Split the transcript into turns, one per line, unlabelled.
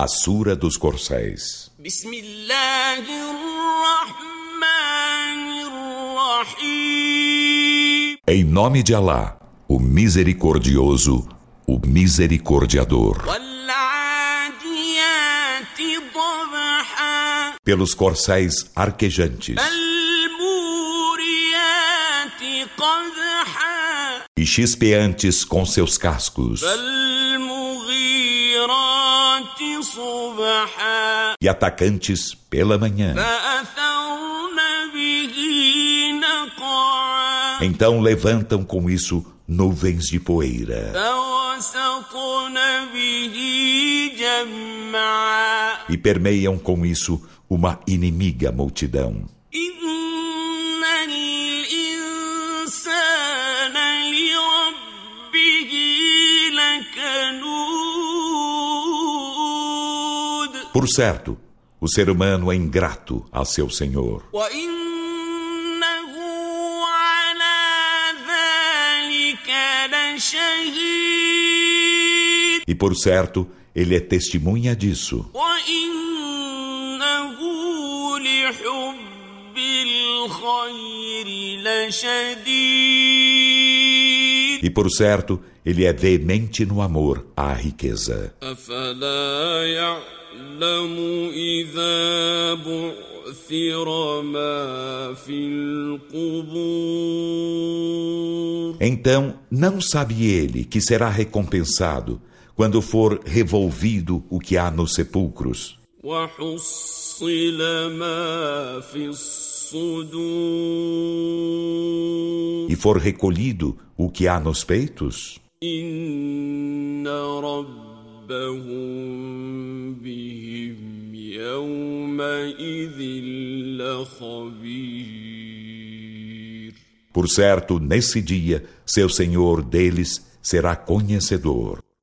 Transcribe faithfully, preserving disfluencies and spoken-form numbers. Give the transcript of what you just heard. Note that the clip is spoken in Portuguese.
A Sura dos Corcéis. Em nome de Alá, o Misericordioso, o Misericordiador. Pelos corcéis arquejantes e chispeantes com seus cascos, e atacantes pela manhã. Então levantam com isso nuvens de poeira e permeiam com isso uma inimiga multidão. Por certo, o ser humano é ingrato a seu Senhor. E por certo, ele é testemunha disso. E por certo, ele é veemente no amor à riqueza. Então, não sabe ele que será recompensado quando for revolvido o que há nos sepulcros e for recolhido o que há nos peitos? Por certo, nesse dia, seu Senhor deles será conhecedor.